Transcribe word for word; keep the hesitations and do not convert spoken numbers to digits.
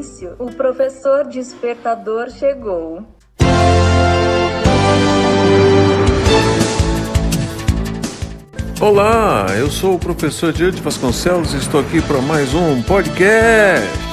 silêncio, o professor despertador chegou. Olá, eu sou o professor Diante Vasconcelos e estou aqui para mais um podcast.